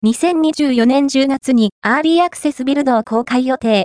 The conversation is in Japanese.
2024年10月にアーリーアクセスビルドを公開予定。